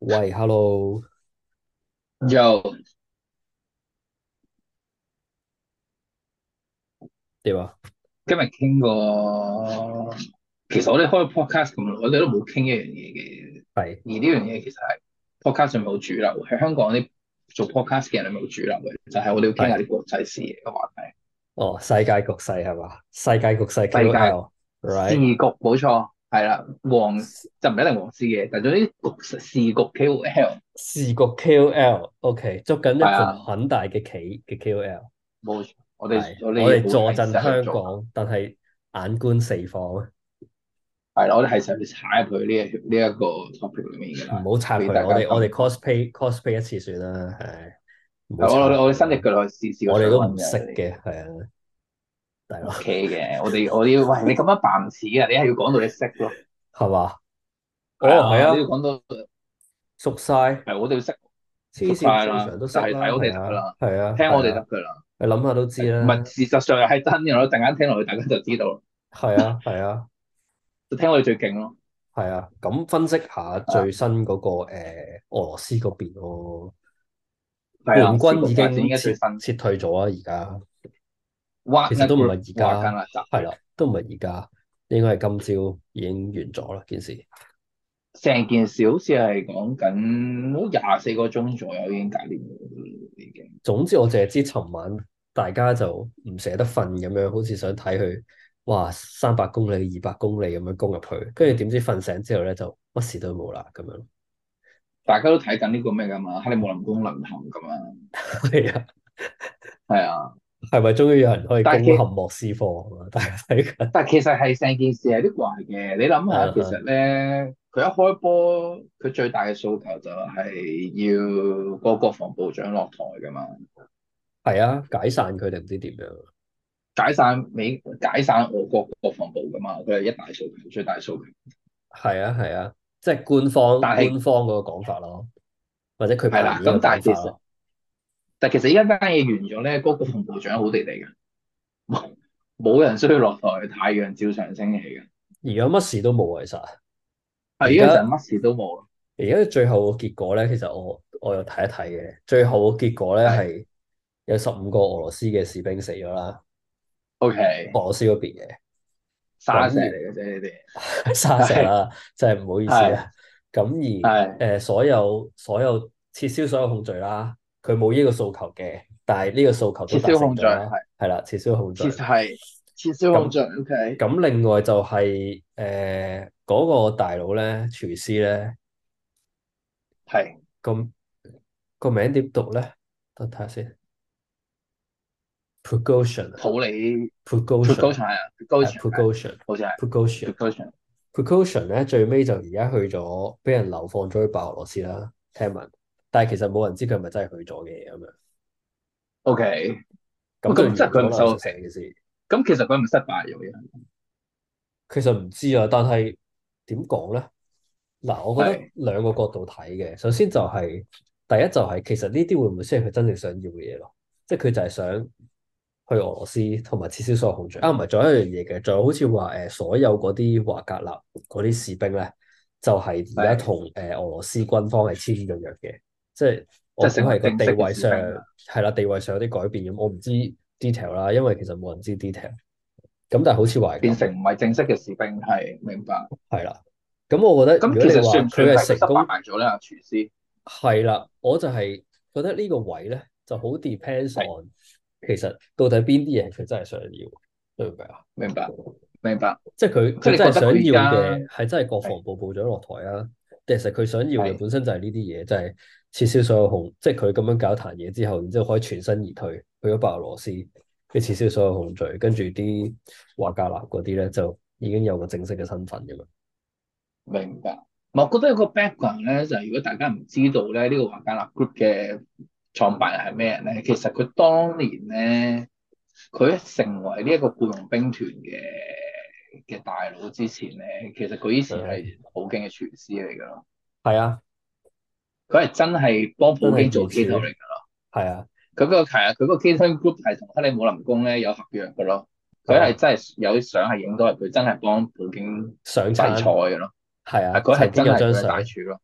喂，hello， 又點啊？ 今日傾過，其實我哋開 podcast 咁耐，我哋都冇傾一樣嘢嘅。 係， 而呢樣嘢其實係 podcast 上面好主流，喺香港啲做 podcast 嘅人係咪好主流嘅？就係我哋要傾下係， 啲國際事嘅話題。 哦，世界局勢係嘛？世界局勢世界 時 KOL，right？ 局冇錯，係啦，就唔一定黃絲嘅，但係總之時局 KOL 視局 KOL，OK，捉緊一盤係啊， 很大嘅棋嘅 KOL， 冇錯。我哋係， 我我哋哋好係坐鎮時候去做， 香港，但係眼觀四方， 係啦，我哋係時候去踩入去呢一個 topic 裏面㗎啦， 唔好插佢， 俾大家我哋感覺。 cosplay 一次算啦，係，唔好係我插佢哋我哋伸隻啦， 腳落去試個我哋都唔水溫嘅。 識嘅，係啊，大佬， O K 嘅，我哋要，喂，你咁樣扮唔似啊！你係要講到你識咯， 係嘛？哦， 係啊，你要係啊， 講到熟晒， 係我哋要識熟黐線， 晒啦， 正常都識啦， 就係睇我係啊， 哋得噶啦， 係啊， 聽我哋得係啊。 噶啦， 你諗下都知唔係啦， 事實上又係真嘅咯，陣間聽落去大家就知道啦， 係啊，係啊， 就聽我哋最勁咯， 係啊。咁分析下啊， 最新嗰個俄羅斯嗰邊咯， 係啊，時叛軍已局發展依經撤家最新撤退咗啊，而家其實 Wagner 都唔係 Group 而家， 華格納集團， 係啦，都唔係而家，應該係今朝已經完咗啦件事。 成件事好似係講緊好24個鐘左右已經搞掂咗，已經。 總之我淨係知尋晚大家就唔捨得瞓咁樣，好似想睇佢，哇300公里、200公里咁樣攻入去，跟住點知瞓醒之後咧就乜事都冇啦咁樣。 大家都睇緊呢個咩噶嘛，克里姆林宮淪陷噶嘛， 係啊。 係啊， 係咪終於有人可以攻陷但係莫斯科啊？大家睇緊， 但其實係成件事係啲怪嘅，你諗下，其實嗯哼， 咧，佢一開波，佢最大嘅訴求就係要個國防部長落台噶嘛， 係啊，解散佢哋唔知點樣， 解散俄國國防部噶嘛，佢係一大訴求，最大訴求。 係啊係啊，即係官方但係官方嗰個講法咯，或者佢係啦， 扮演嘅咁但係其實， 講法咯。 依家單嘢完咗咧，嗰個國防部長好地地嘅，冇人需要落台，太陽照常升起嘅。 而家乜事都冇，其實係依家就係而家乜事都冇咯。 而家最後嘅結果咧，其實我有睇一睇嘅，最後嘅結果咧係係有15個俄羅斯嘅士兵死咗啦，俄 ，OK， 羅斯嗰邊嘅， 沙石嚟咁嘅啫，呢而沙啲係石啦，真係唔好意思係啊。咁而係所有撤銷所有控罪啦，佢冇呢個訴求嘅，但係呢個訴求都達撤銷控罪， 成咗啦， 係。 係啦，撤銷控罪。 撤銷控咁罪，OK， 咁另外就係嗰個大佬咧，廚師咧， 係個個名點讀咧？等睇下先，Prigozhin 啊普里 ，Prigozhin 啊， 高層係啊，高係層係， Prigozhin。 好似係 Prigozhin。 高層 Precaution 咧最尾就而家去咗，俾人流放咗去白俄羅斯啦。聽聞，但係其實冇人知佢係咪真係去咗嘅咁樣， ，OK， 咁就完咁即係佢唔咗啦。 受， 成件事咁其實佢唔失敗咗嘅， 其實唔知啊，但係點講咧？嗱，我覺得係兩個角度睇嘅。首先就係、第一就係、其實呢啲會唔會先係佢真正想要嘅嘢咯？即係佢就係想去俄羅斯同埋撤銷所有控罪啊，唔係，仲有一樣嘢嘅，仲有好似話所有嗰啲華格納嗰啲士兵咧，就係而家係同俄羅斯軍方係簽咗約嘅，即係我估即係成為係個地正式嘅位上士兵啦。 係啦，地位上有啲改變咁，我唔知 detail 啦，因為其實冇人知 detail。咁但係好似話係變成咁， 唔係正式嘅士兵，係明白。 係啦。咁我覺得如果你咁其實算唔算話佢係係佢失成功， 敗咗咧？阿廚師係啦，我就係覺得呢個位咧就好 depends 係 on 其實到底邊啲嘢佢真係想要，明唔明啊？ 明白明白， 即係佢即係你覺得佢真係想佢而家要嘅係真係國係防部部長落台啊？定係其實佢想要嘅係本身就係呢啲嘢，就係撤銷所有控，即係佢咁樣搞壇嘢之後，然之後可以全身而退去咗白俄羅斯，跟住撤銷所有控罪，跟住啲華格納嗰啲咧就已經有個正式嘅身份咁樣。 明白。我覺得有個 background 咧，就係如果大家唔知道咧，呢個華格納 group 嘅創辦人係咩人咧？其實佢當年咧，佢成為呢一個僱傭兵團嘅大佬之前咧，其實佢以前誒， 係普京嘅廚師嚟㗎咯。 係啊， 佢係真係幫真係普京做二處， cater 嚟㗎咯。 係啊， 佢個 cater group 係同克里姆林宮咧有合約㗎咯。佢係啊， 係真係有啲相係影到係佢真係幫普京上餐洗菜㗎咯。 係啊， 係佢係曾經有真係佢嘅大張相。 廚咯。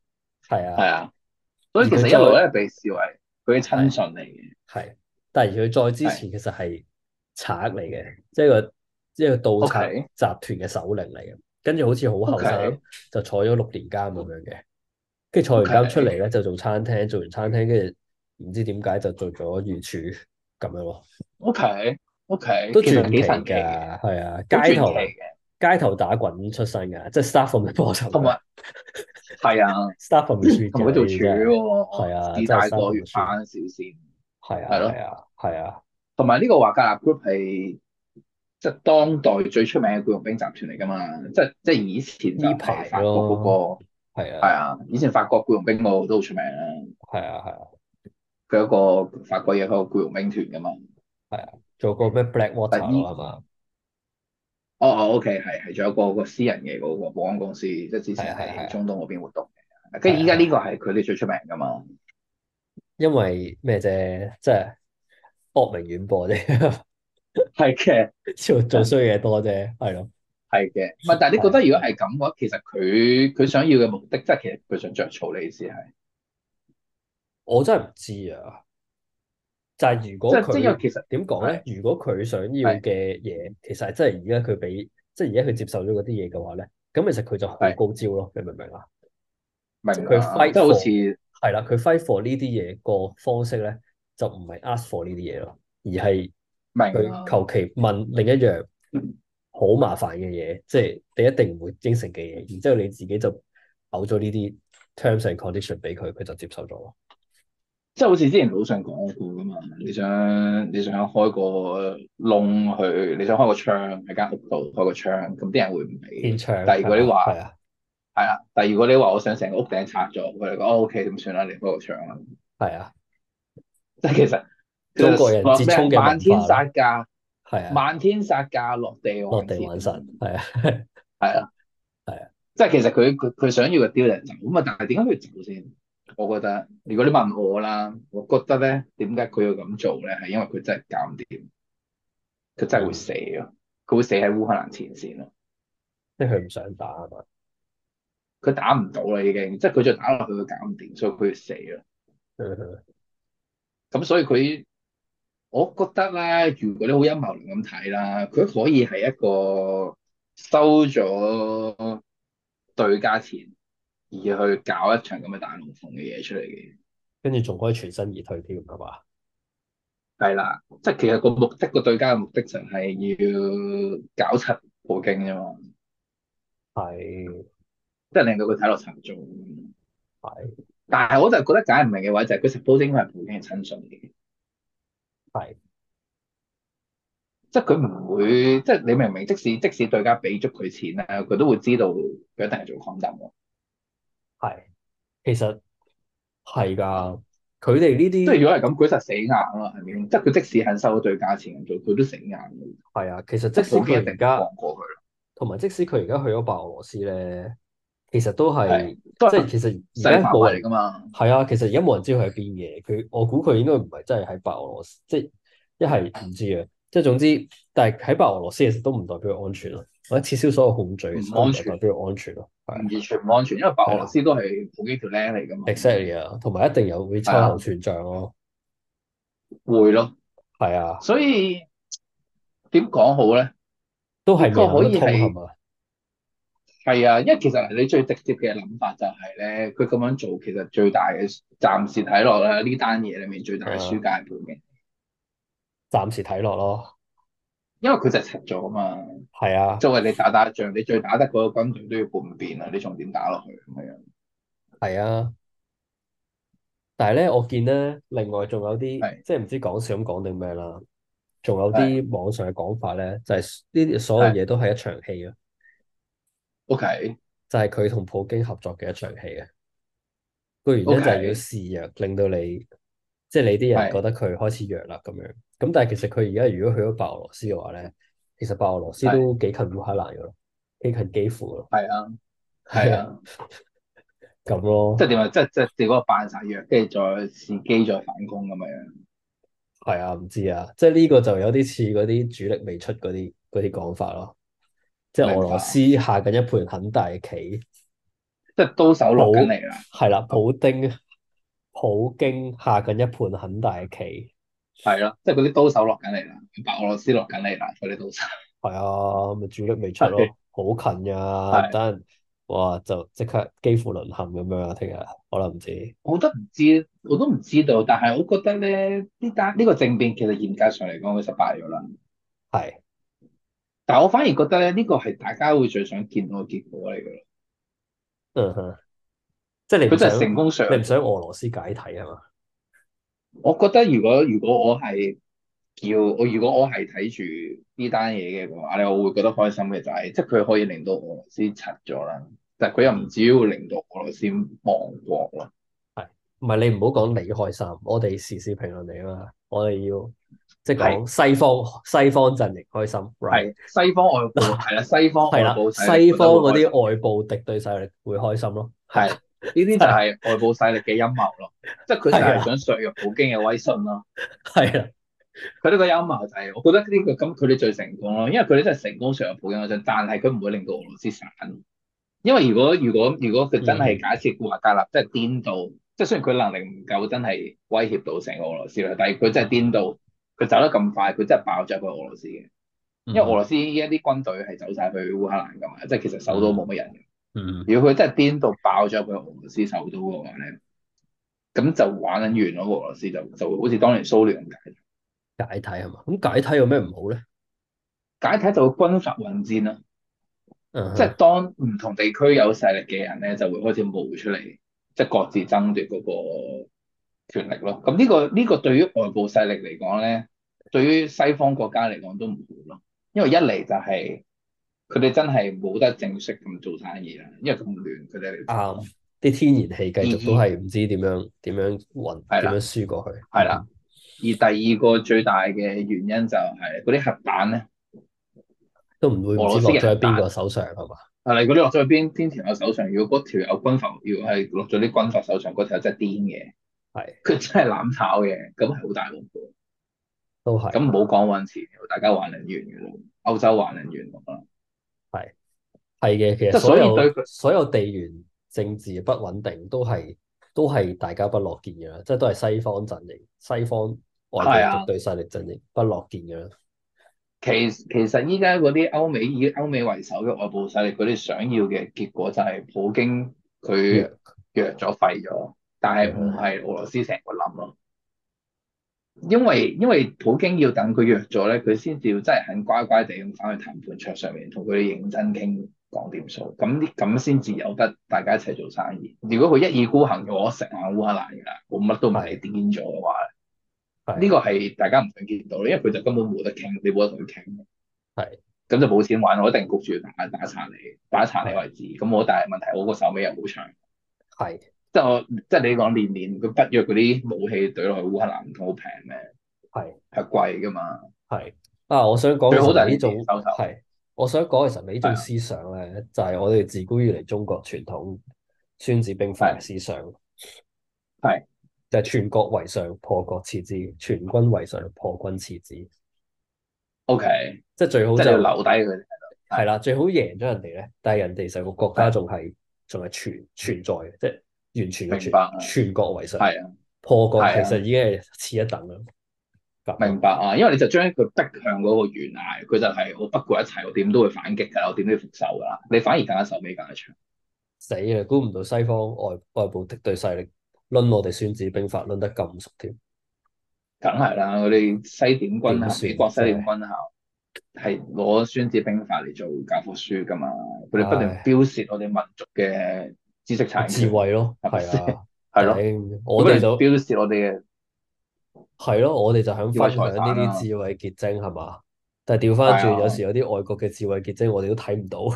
係啊， 係啊，所以其實一而佢再路咧被視為佢嘅親係信嚟嘅。 係，但係而佢再之係前其實係賊嚟嘅，即係個盜賊 ，OK 集團嘅首領嚟嘅，跟住好似好後生 OK 就坐咗6年監咁樣嘅，跟住坐完監出嚟 OK 咧就做餐廳，做完餐廳跟住唔知點解就做咗御廚咁樣咯， OK OK， 都其實幾傳奇㗎， 神奇嘅， 係啊， 好傳奇嘅， 街頭打滾出身㗎，即係 start from the bottom 㗎同埋係啊， ，start from the street 嘅呢同埋佢做廚啲真係係喎， 啊，真係自帶 start 過 from 越 the street， 翻小線， 係啊係咯。 係啊係啊， 同埋呢個華格納 Group 係即係當代最出名嘅僱傭兵集團嚟㗎嘛，即係以前就呢排係法國嗰咯， 個係啊係啊，以前法國僱傭兵嗰個都好出名啦， 係啊係啊。 佢有一個法國嘢，佢有個僱傭兵團㗎嘛。 係啊，做過咩 Blackwater 咯， 但依係嘛？ OK 係仲有個私人嘅嗰個保安公司，即係之前係啊，係啊，係啊， 喺中東嗰邊活動嘅，跟係啊，係啊， 住依家呢個係佢哋最出名㗎嘛。 因為咩啫？即係惡名遠播啫， 係嘅， 做衰嘢多啫，係咯， 係嘅。唔係，但係你覺得係啊， 如果係咁嘅話，其實佢想要嘅目的，即係其實佢想着草，你意思係？ 我真係唔知啊。就係如果即係因為佢其實點講咧？ 係如果佢想要係嘅嘢，其實係真係而家佢俾，即係而家佢接受咗嗰啲嘢嘅話咧，咁其實佢就好係高招咯。你明唔明啊？即係佢明啊， fight 即係好 for 似係啦，佢 fight for 呢啲嘢個方式咧，就唔係 ask for 呢啲嘢咯，而係佢明啊， 求其問另一樣好麻煩嘅嘢，即係你一定唔會應承嘅嘢，然之後你自己就嘔咗呢啲 terms and condition 俾佢，佢就接受咗咯。 即係好似之前老上講過㗎嘛，你想開個窿去，你想開個窗喺間屋度開個窗，咁啲人會唔俾天嘅。但係如窗係嘛？係果你話啊， 係啊，但係如果你話我想成個屋頂拆咗，佢哋講 OK 咁算啦，你開個窗啦。 係啊， 即係其實中國人折衷話咩嘅文漫天化咯， 殺價， 係啊， 漫天殺價落地落還錢啊嘛。 地還神，係啊， 係啊， 係啊， 即係其實佢想要嘅 deal 就走咁啊，但係點解佢走先？我覺得如果你問我啦，我覺得咧點解佢要咁做咧，係因為佢真係搞唔掂，佢真係會嗯， 死咯，佢會死喺烏克蘭前線咯， 即係佢唔想打啊嘛， 佢打唔到啦已經，即係佢再打落去佢搞唔掂，所以佢要死咯。 嗯咁所以佢，我覺得咧，如果你好陰謀論咁睇啦，佢可以係一個收咗對價錢而去搞一場咁嘅大龍鳳嘅嘢出嚟嘅。 跟住仲可以全身而退添，係嘛？ 係啦，即係其實個目的個對家嘅目的就係要搞柒普京啫嘛， 係即係令到佢睇落沉重。 係但係我就覺得解唔明嘅位就係佢 suppose 應該係普京嘅親信嚟嘅， 係即係佢唔會，即係你明唔明？即使對家俾足佢錢咧，佢都會知道佢一定係做 condom 喎。 係，其實係㗎，佢哋呢啲即係如果係咁，佢實死硬啦，係咪？即係佢即使肯收對價錢咁做，佢都死硬嘅。 係啊，其實即即係使普京一定唔佢而家放過佢。 同埋即使佢而家去咗白俄羅斯咧，其實都係， 係都係即係其實而勢力範圍嚟家冇人㗎嘛。 係啊，其實而家冇人知佢喺邊嘅。我估佢應該唔係真係喺白俄羅斯，即係一係唔知啊。即係總之，但係喺白俄羅斯其實都唔代表佢安全咯，或者撤銷所有控罪唔其實都唔安全， 係代表佢安全咯。係啊， 完全唔安全，因為白俄羅係啊斯都係普京條僆嚟㗎嘛。 ，exactly 啊，同埋一定有會秋後係啊， 算賬咯。 會咯。 係啊， 所以點講好咧？ 都係未呢個可諗得通係以係嘛？ 係啊，因為其實你最直接嘅諗法就係咧，佢咁樣做其實最大嘅暫時睇落咧，呢單嘢裏面最大嘅輸啊， 家係普京， 暫時睇落咯。 因為佢就係柒咗啊嘛。 係啊， 作為你打仗，你最打得嗰個軍隊都要叛變啊，你仲點打落去咁樣？ 係啊。但係咧，我見咧，另外仲有啲係即係唔知講笑咁講定咩啦，仲有係啲網上嘅講法咧，就係呢啲所有係嘢都係一場戲啊， ，OK 就係佢同普京合作嘅一場戲啊。個原因就係要 OK 示弱，令到你即係你啲人覺係得佢開始弱啦咁樣。咁但係其實佢而家如果去咗白俄羅斯嘅話咧，其實白俄羅斯係都幾近烏克蘭噶咯，幾近基輔咯， 係啊係係啊， 啊， 咁咯， 即係點啊？即係結果扮晒藥，跟住再伺機再反攻咁樣。 係啊，唔知啊，即係呢個就有啲似嗰啲主力未出嗰啲講法咯。即係俄羅明白。 斯下緊一盤很大嘅棋， 即係刀手落緊普嚟啦。 係啦，普京下緊一盤很大嘅棋。 係咯，即係嗰啲刀手落緊嚟啦，白俄羅斯落緊嚟啦，嗰啲刀手。 係啊，咪主力未出係咯，好近呀， 係， 等陣哇就即刻幾乎淪陷咁樣啊！聽日可能唔知我都唔知，我都唔知道，但係我覺得咧，呢個政變其實嚴格上嚟講，佢失敗咗啦。 係， 但係我反而覺得咧，呢個係大家會最想見到嘅結果嚟嘅咯。 嗯哼，即係佢真係成功上咗。 你唔想俄羅斯解體係嘛？ 我覺得如果如果我係睇住呢單嘢嘅話咧，我會覺得開心嘅就係，即係佢可以令到俄羅斯柒咗啦，但係佢又唔嗯， 至於會令到俄羅斯亡國咯。 係，唔係你唔好講你開心，我哋時事評論嚟啊嘛，我哋要即係係講西方陣營開心，right？ 係西方外部係啦，西方係啦， 外部勢力西方覺得會嗰啲開心。 外部敵對勢力會開心咯， 係呢啲就係係外部勢力嘅陰謀咯，即係佢就係啊， 係想削弱普京嘅威信咯。 係啊， 佢呢個陰謀就係，我覺得呢個咁佢哋最成功咯，因為佢哋真係成功削弱普京威信，但係佢唔會令到俄羅斯散。因為如果佢真係嗯假設華格納即係顛倒，即係雖然佢能力唔夠真係威脅到成個俄羅斯啦，但係佢真係顛倒，佢走得咁快，佢真係爆咗去俄羅斯嘅。因為俄嗯羅斯依家啲軍隊係走晒去烏克蘭噶嘛，即係其實首都冇嗯乜人嘅。 嗯， 如果佢真係顛倒爆咗去俄羅斯首都嘅話咧，咁就玩緊完咯，俄羅斯就會好似當年蘇聯咁解。 解體係嘛？咁解體有咩唔好咧？ 解體就會軍閥混戰啦，即係嗯哼， 當唔同地區有勢力嘅人咧，就會開始冒出嚟，即係各自爭奪嗰個權力咯。咁呢個對於外部勢力嚟講咧，對於西方國家嚟講都唔好咯，因為一嚟就係佢哋真係冇得正式咁做生意啦，因為咁亂佢哋嚟講。 啱，啲天然氣繼續都二係唔知點樣運，點樣係啦， 輸過去。 係啦。而第二個最大嘅原因就係嗰啲核彈咧， 都唔知俄羅斯落咗喺邊嘅核彈。 個手上係嘛？ 係啦，如果你落咗去邊條友手上，如果嗰條友軍閥，如果係落咗啲軍閥手上，嗰條友真係癲嘅， 係， 佢真係攬炒嘅，咁係好大鑊嘅。 都係， 咁唔好講揾錢，大家還能完嘅咯，歐洲還能完啦。 係係嘅。其實即係所有所以對佢所有地緣政治不穩定都係大家不樂見嘅啦，即係都係西方陣營、西方外部係啊， 敵對勢力陣營不樂見嘅啦。 其實依家嗰啲以歐美為首嘅外部勢力，佢哋想要嘅結果就係普京佢弱， 弱咗廢咗，但係唔嗯係俄羅斯成個冧咯。因為普京要等佢弱咗咧，佢先至要真係肯乖乖地咁翻去談判桌上面同佢哋認真傾講掂數，咁先至有得大家一齊做生意。如果佢一意孤行嘅話，我食硬烏克蘭㗎啦，我乜都唔理係癲咗嘅話，呢係個係大家唔想見到，因為佢就根本冇得傾，你冇得同佢傾， 係咁就冇錢玩，我一定焗住打殘你係為止。咁我但係問題，我個手尾又好長， 係即係你講年佢北約嗰啲武器懟落去烏克蘭唔通好平咩？ 係係貴㗎嘛。 係啊！我想講最好就係你其實呢種自己收手。 係，我想講其實呢種係啊， 思想咧，就係我哋自古以嚟中國傳統孫子兵法嘅係思想， 係就係全國為上，破國次之；全軍為上，破軍次之。 ，OK， 即係最好即係你要就留低佢哋喺度。係係啦，最好贏咗人哋咧，但係人哋成個國家係仲係存在嘅，即係完全嘅明白啊， 全國為上， 係啊破國其係啊， 實已經係次一等啦。咁咯， 明白啊，因為你就將佢逼向嗰個懸崖，佢就係我不顧一切，我點都會反擊㗎，我點都要復仇㗎啦。你反而更加手尾更加長。 死啦！估唔到西方外部敵對勢力掄我哋孫子兵法掄得咁熟添， 梗係啦，我哋西點軍校，美點算國西真係？ 點軍校係攞孫子兵法嚟做教科書㗎嘛，佢哋不斷唉， 標示我哋民族嘅知識產智權， 慧咯， 係咪先？ 係啊， 係咯， 頂！ 佢不斷我哋就標示我哋嘅係咯，我哋就想智慧分享呢財產啦。 啲智慧結晶係嘛？但係調翻轉，有係啊。 時有啲外國嘅智慧結晶，我哋都睇唔到。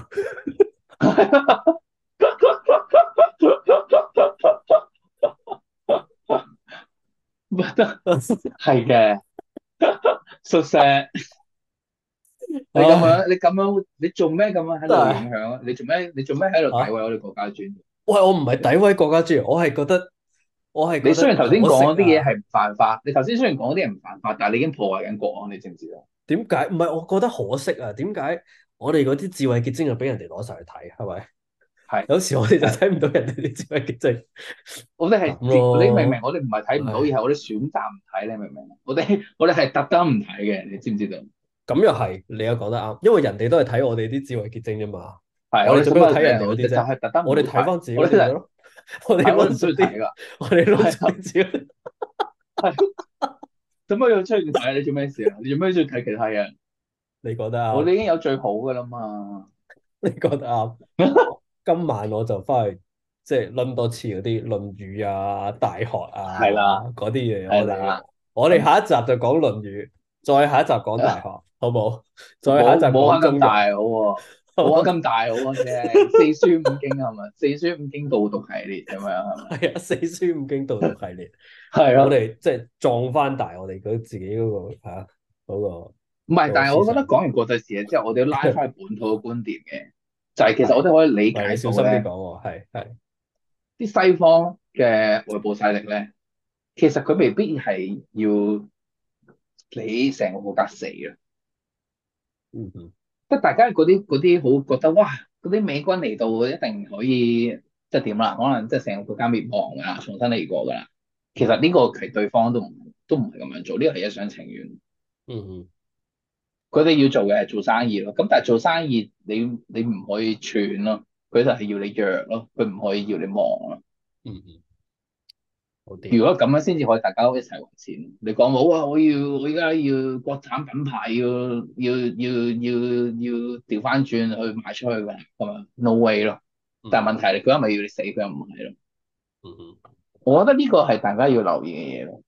覺得係嘅，宿舍，你咁唉， 樣，你做咩咁樣喺度影真係響啊？你做咩喺度詆毀嚇！ 我哋國家尊嚴？ 喂，我唔係詆毀國家主權，我係覺得你雖然頭先可惜講嗰啲嘢啊。 係唔犯法，你頭先雖然講嗰啲嘢唔犯法，但係你已經破壞緊國安，你知唔知啊？ 點解？唔係，我覺得可惜啊。點解我哋嗰啲智慧結晶就俾人哋攞晒去睇，係咪？ 係。 有時我哋就係， 睇唔到人哋啲智慧結晶我哋係咁你明唔明？ 咯。 我哋唔係睇唔到，而唉， 係我哋選擇唔睇，你明唔明？我哋係特登唔睇嘅，你知唔知道？ 咁又係，你又講得啱，因為人哋都係睇我哋啲智慧結晶啫嘛。 係， 我哋我哋使乜做咩要睇人哋睇？我哋就嗰啲啫？ 係特登唔我哋會睇， 睇翻自己我哋就係嗰啲咪得咯。我哋我哋唔需要論述啲， 睇㗎。 我哋論述係啊， 啲自己。 係，做乜要出去睇啊？你做咩事啊？你做咩要睇其他嘢？ 你覺得啱？ 我哋已經有最好㗎啦嘛。 你覺得啱？今晚我就翻去即係論多次嗰啲《論語》啊、《大學》 係啦， 啊嗰啲嘢。我哋係啦。 我哋咁下一集就講《論語》，再下一集講《大學》，好唔好？再下一集冇冇講中庸， 玩咁大好喎， 好唔好？ 冇玩咁大好啊啫。四書五經係咪？四書五經導讀系列咁樣係咪？ 係啊，四書五經導讀系列，我係咯。 哋即係壯翻大我哋自己嗰個嗰個唔係， 嗰個但係我覺得思想。 講完國際視野之後，我哋要拉翻去本土嘅觀點嘅，就係其實我係， 哋可以理喂，你解小心啲講到咧， 喎，係啲西方嘅外部勢力咧，其實佢未必係要你成個國家死嘅， 嗯嗯即係大家嗰啲好覺得哇，嗰啲美軍嚟到一定可以即係點啦，可能即係成個國家滅亡㗎啦，重新嚟過㗎啦。其實呢個其實對方都唔係咁樣做，呢個係一廂情願。 嗯嗯佢哋要做嘅係做生意咯，咁但係做生意你唔可以串咯，佢就係要你弱咯，佢唔可以要你忙咯。 嗯嗯，好掂。 如果咁樣先至可以大家一齊還錢。你講好啊，我而家要國產品牌要調翻轉去賣出去㗎，咁啊 no way 咯。但係問題係佢又咪要你死，佢又唔係咯。 嗯嗯。 我覺得呢個係大家要留意嘅嘢咯。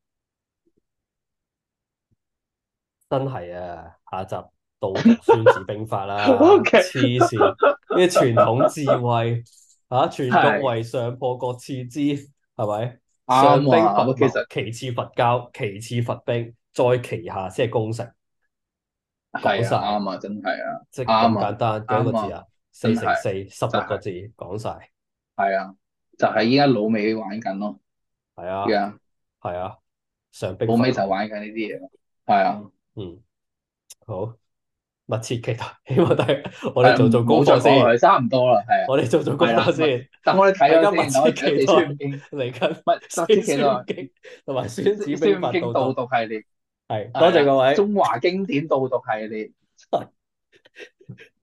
真係啊！下集導讀孫子兵法啦， OK， 黐線！呢啲傳統智慧全國係為上，破國次之，係咪？上兵啱啊。其伐謀， 實其次伐交，其次伐兵，再其下先係攻城。講係啊， 晒， 啱啊，真係啊， 即係咁啱啊， 簡單，幾多個啱啊， 字啊？四真係乘四， 就係。 16個字，講晒。 係啊，就係依家老美玩緊咯， 係啊， 而家係啊，上兵老伐謀。 美就玩緊呢啲嘢咯。係啊， 嗯，好，密切期待，希望大家我哋係做功唔好再講落課先。 去，差唔多啦。係啊， 我哋做功係啦， 課先， 等我哋睇大家咗先，等我密切哋睇咗四期待書五經， 嚟緊四密切期待書五經同埋孫子兵四書五經導法導讀。 讀系列， 係，多係啊， 謝各位。 中華經典導讀系列。